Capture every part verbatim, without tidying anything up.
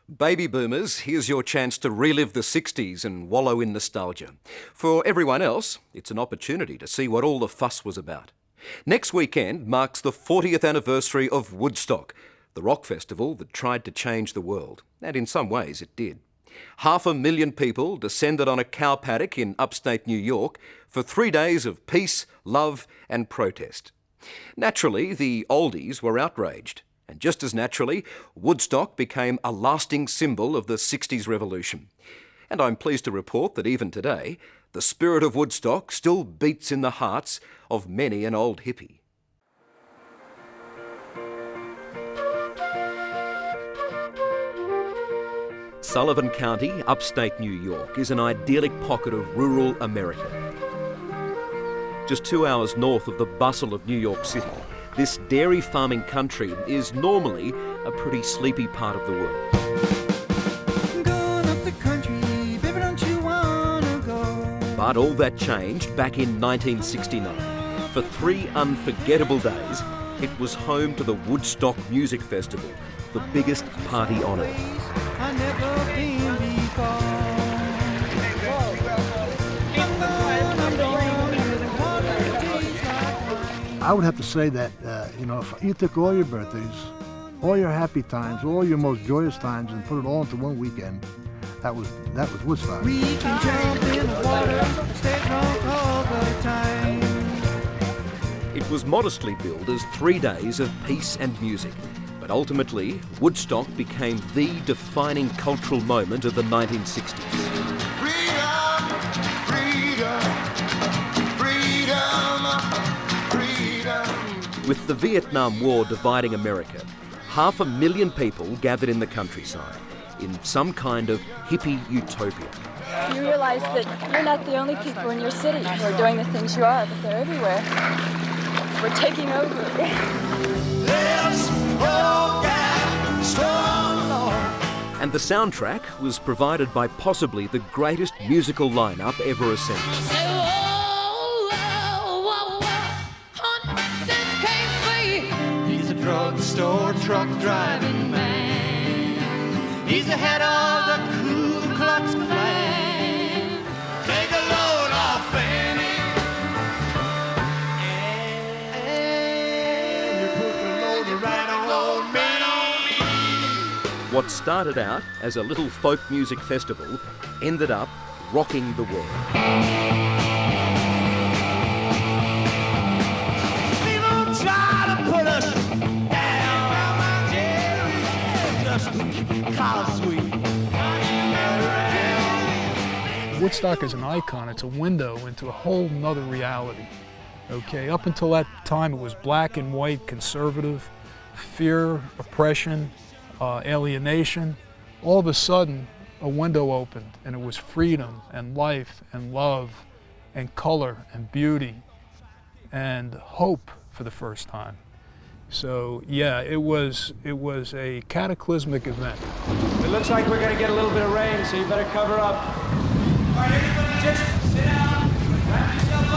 Baby boomers, here's your chance to relive the sixties and wallow in nostalgia. For everyone else, it's an opportunity to see what all the fuss was about. Next weekend marks the fortieth anniversary of Woodstock, the rock festival that tried to change the world, and in some ways it did. Half a million people descended on a cow paddock in upstate New York for three days of peace, love and protest. Naturally, the oldies were outraged. And just as naturally, Woodstock became a lasting symbol of the sixties revolution. And I'm pleased to report that even today, the spirit of Woodstock still beats in the hearts of many an old hippie. Sullivan County, upstate New York, is an idyllic pocket of rural America. Just two hours north of the bustle of New York City, this dairy farming country is normally a pretty sleepy part of the world. Going up the country, baby, don't you wanna go? But all that changed back in nineteen sixty-nine. For three unforgettable days, it was home to the Woodstock Music Festival, the biggest party on earth. I never been before. I would have to say that, uh, you know, if you took all your birthdays, all your happy times, all your most joyous times, and put it all into one weekend, that was that was Woodstock. We can jump in the water, stay drunk all the time. It was modestly billed as three days of peace and music, but ultimately, Woodstock became the defining cultural moment of the nineteen sixties. Freedom, freedom, freedom. With the Vietnam War dividing America, half a million people gathered in the countryside in some kind of hippie utopia. You realize that you're not the only people in your city who are doing the things you are, but they're everywhere. We're taking over. And the soundtrack was provided by possibly the greatest musical lineup ever assembled. Drugstore truck driving man. He's the head of the Ku Klux Klan. Take a load off, Benny. And you put the load right on me. What started out as a little folk music festival ended up rocking the world. Woodstock is an icon. It's a window into a whole nother reality. Okay, up until that time it was black and white, conservative, fear, oppression, uh, alienation. All of a sudden, a window opened and it was freedom and life and love and color and beauty and hope for the first time. So yeah, it was it was a cataclysmic event. It looks like we're gonna get a little bit of rain, so you better cover up. All right, everybody, just sit down, wrap yourself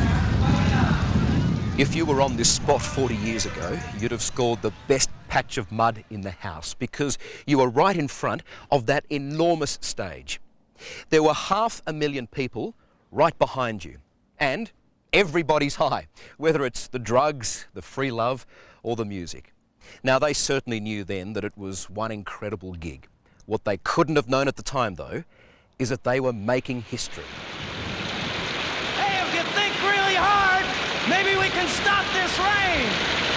up. If you were on this spot forty years ago, you'd have scored the best patch of mud in the house because you were right in front of that enormous stage. There were half a million people right behind you, and everybody's high, whether it's the drugs, the free love, or the music. Now, they certainly knew then that it was one incredible gig. What they couldn't have known at the time, though, is that they were making history. Hey, if you think really hard, maybe we can stop this rain.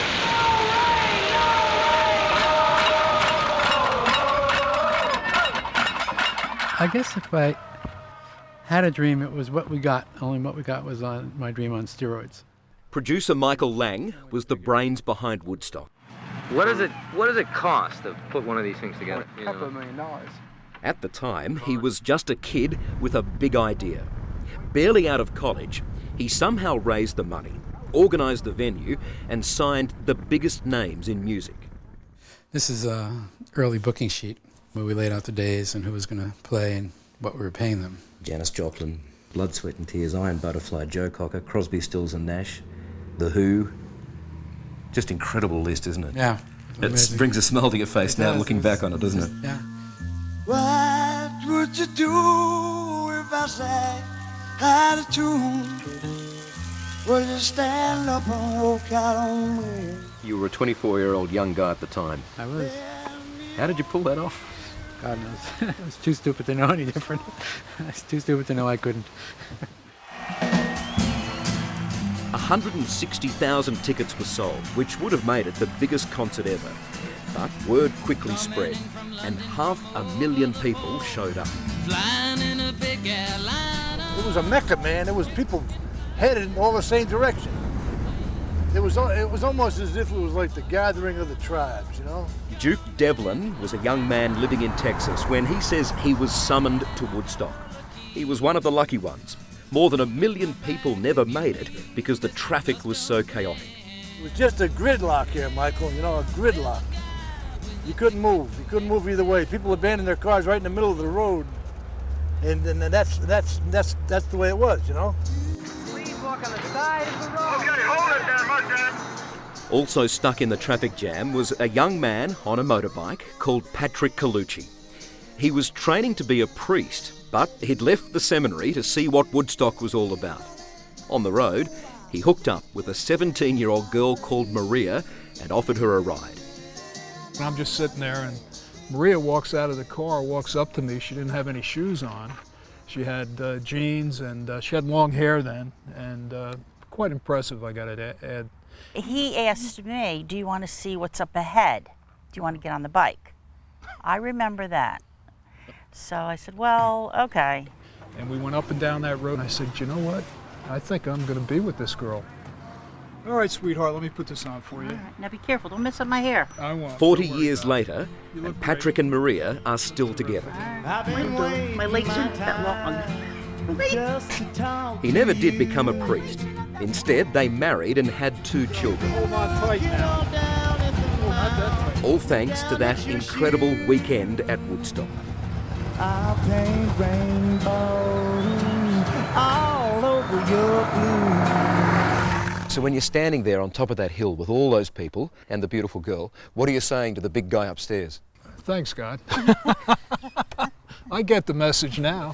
I guess if I had a dream, it was what we got, only what we got was on my dream on steroids. Producer Michael Lang was the brains behind Woodstock. What does it What does it cost to put one of these things together? A couple of million dollars. At the time, he was just a kid with a big idea. Barely out of college, he somehow raised the money, organised the venue, and signed the biggest names in music. This is an early booking sheet where we laid out the days and who was going to play and what we were paying them. Janis Joplin, Blood, Sweat and Tears, Iron Butterfly, Joe Cocker, Crosby, Stills and Nash, The Who. Just incredible list, isn't it? Yeah. It brings a smile to your face it now does. looking back on it, doesn't it? Yeah. What would you do if I sang out of tune? Would you stand up and walk out on me? You were a twenty-four-year-old young guy at the time. I was. How did you pull that off? God knows. I was too stupid to know any different. I was too stupid to know I couldn't. one hundred sixty thousand tickets were sold, which would have made it the biggest concert ever. But word quickly spread, and half a million people showed up. It was a mecca, man. It was people headed in all the same direction. It was it was almost as if it was like the gathering of the tribes, you know? Duke Devlin was a young man living in Texas when he says he was summoned to Woodstock. He was one of the lucky ones. More than a million people never made it because the traffic was so chaotic. It was just a gridlock here, Michael, you know, a gridlock. You couldn't move. You couldn't move either way. People abandoned their cars right in the middle of the road. And, and that's that's that's that's the way it was, you know? Please walk on the side of the road. Okay, hold it there, Mustang. Also stuck in the traffic jam was a young man on a motorbike called Patrick Colucci. He was training to be a priest, but he'd left the seminary to see what Woodstock was all about. On the road, he hooked up with a seventeen-year-old girl called Maria and offered her a ride. And I'm just sitting there, and Maria walks out of the car, walks up to me. She didn't have any shoes on. She had uh, jeans, and uh, she had long hair then, and uh, quite impressive, I gotta add. He asked me, do you want to see what's up ahead? Do you want to get on the bike? I remember that. So I said, well, okay. And we went up and down that road, and I said, you know what? I think I'm gonna be with this girl. All right, sweetheart, let me put this on for you. All right. Now be careful, don't mess up my hair. I won't. Forty years later, and Patrick and Maria are still together. Right. My legs aren't that long. He never did become a priest. Instead, they married and had two children. Hold on tight now. Oh, not that tight. All thanks to that incredible weekend at Woodstock. I'll paint rainbows all over your blue. So when you're standing there on top of that hill with all those people and the beautiful girl, what are you saying to the big guy upstairs? Thanks, God. I get the message now.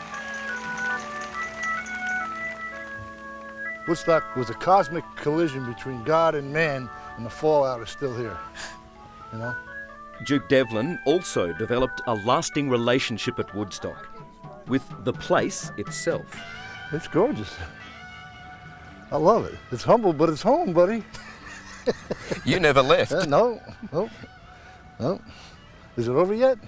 Woodstock was a cosmic collision between God and man, and the fallout is still here, you know? Duke Devlin also developed a lasting relationship at Woodstock with the place itself. It's gorgeous. I love it. It's humble, but it's home, buddy. You never left. Uh, no, no, no. Is it over yet?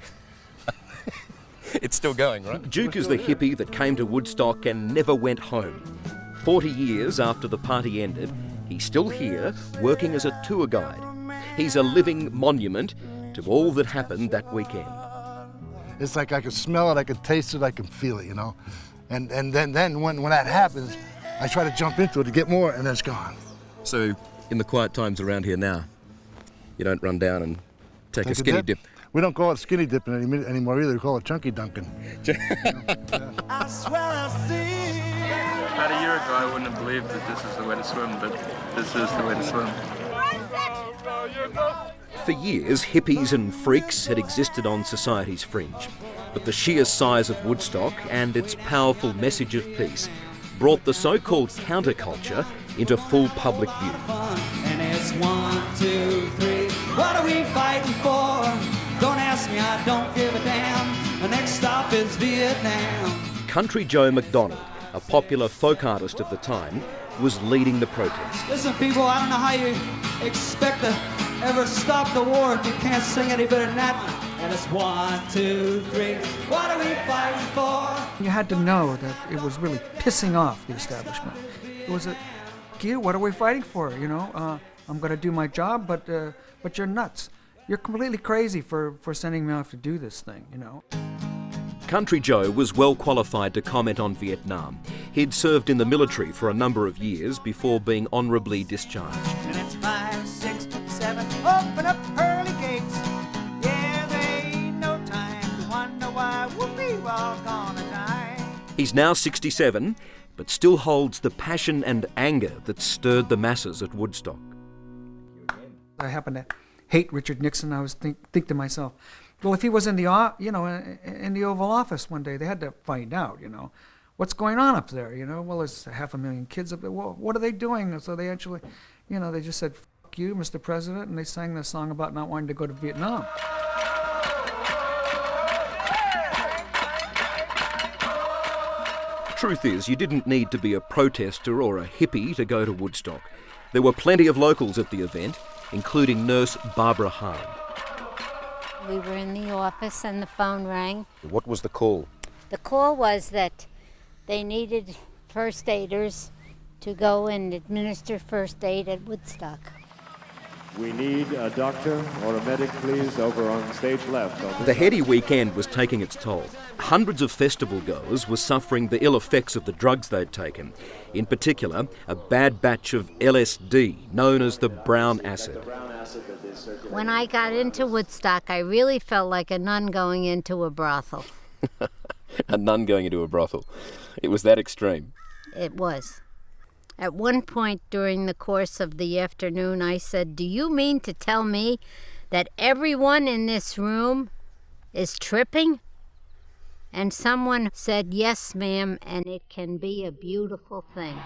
It's still going, right? Duke is the hippie that came to Woodstock and never went home. Forty years after the party ended, he's still here, working as a tour guide. He's a living monument to all that happened that weekend. It's like I can smell it, I can taste it, I can feel it, you know? And and then, then when, when that happens, I try to jump into it to get more, and then it's gone. So, in the quiet times around here now, you don't run down and take, Take a skinny a dip? dip? We don't call it skinny dipping any, anymore either, we call it chunky dunking. I swear I see. About a year ago, I wouldn't have believed that this is the way to swim, but this is the way to swim. For years, hippies and freaks had existed on society's fringe, but the sheer size of Woodstock and its powerful message of peace brought the so-called counterculture into full public view. And it's one, two, three. What are we fighting for? Don't ask me, I don't give a damn. The next stop is Vietnam. Country Joe McDonald, a popular folk artist of the time, was leading the protest. Listen, people, I don't know how you expect to ever stop the war if you can't sing any better than that. And it's one, two, three. What are we fighting for? You had to know that it was really pissing off the establishment. It was a, Q, what are we fighting for? You know, uh, I'm going to do my job, but uh, but you're nuts. You're completely crazy for, for sending me off to do this thing, you know. Country Joe was well qualified to comment on Vietnam. He'd served in the military for a number of years before being honourably discharged. And it's five, six, seven. Open up pearly gates. Yeah, there ain't no time to wonder why whoopee we're all gonna die. He's now sixty-seven, but still holds the passion and anger that stirred the masses at Woodstock. I happen to hate Richard Nixon. I was think, think to myself, Well, if he was in the, o- you know, in, in the Oval Office one day, they had to find out, you know, what's going on up there, you know. Well, there's half a million kids up there. Well, what are they doing? So they actually, you know, they just said, "Fuck you, Mister President," and they sang this song about not wanting to go to Vietnam. Truth is, you didn't need to be a protester or a hippie to go to Woodstock. There were plenty of locals at the event, including nurse Barbara Hahn. We were in the office and the phone rang. What was the call? The call was that they needed first aiders to go and administer first aid at Woodstock. We need a doctor or a medic, please, over on stage left. On The heady weekend was taking its toll. Hundreds of festival goers were suffering the ill effects of the drugs they'd taken. In particular, a bad batch of L S D, known as the brown acid. When I got into Woodstock, I really felt like a nun going into a brothel. A nun going into a brothel. It was that extreme. It was. At one point during the course of the afternoon, I said, "Do you mean to tell me that everyone in this room is tripping?" And someone said, "Yes, ma'am, and it can be a beautiful thing."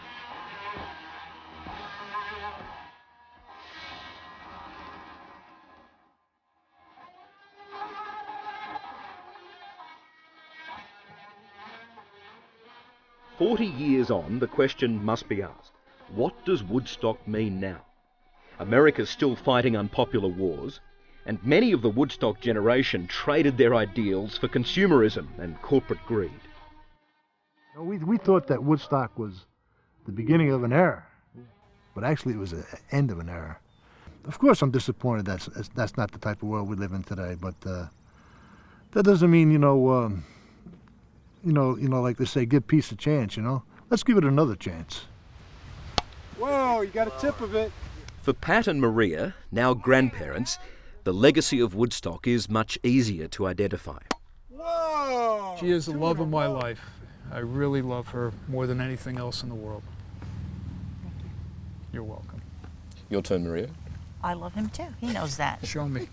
Forty years on, the question must be asked, what does Woodstock mean now? America's still fighting unpopular wars, and many of the Woodstock generation traded their ideals for consumerism and corporate greed. You know, we, we thought that Woodstock was the beginning of an era, but actually it was the end of an era. Of course I'm disappointed that's, that's not the type of world we live in today, but uh, that doesn't mean, you know, um, you know, you know, like they say, give peace a chance, you know. Let's give it another chance. Whoa, you got a tip of it. For Pat and Maria, now grandparents, the legacy of Woodstock is much easier to identify. Whoa! She is the love of my life. I really love her more than anything else in the world. You're welcome. Your turn, Maria. I love him too. He knows that. Show me.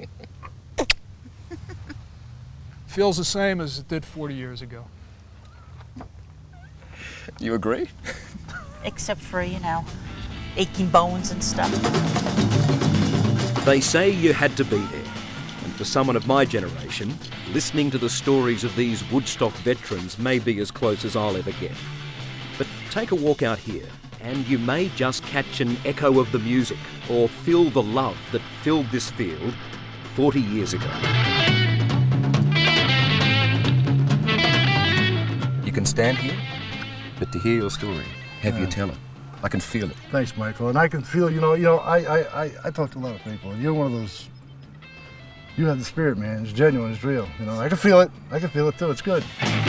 Feels the same as it did forty years ago. You agree? Except for, you know, aching bones and stuff. They say you had to be there. And for someone of my generation, listening to the stories of these Woodstock veterans may be as close as I'll ever get. But take a walk out here, and you may just catch an echo of the music or feel the love that filled this field forty years ago. You can stand here, but to hear your story, have Yeah. you tell it. I can feel it. Thanks, Michael. And I can feel, you know, you know, I, I, I, I talk to a lot of people, and you're one of those. You have the spirit, man. It's genuine. It's real. You know, I can feel it. I can feel it too. It's good.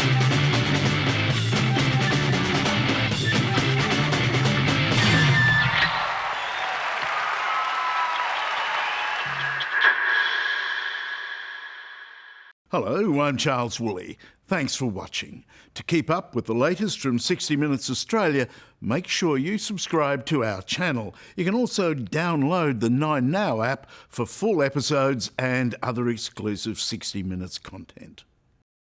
Hello, I'm Charles Woolley. Thanks for watching. To keep up with the latest from sixty minutes Australia, make sure you subscribe to our channel. You can also download the Nine Now app for full episodes and other exclusive sixty minutes content.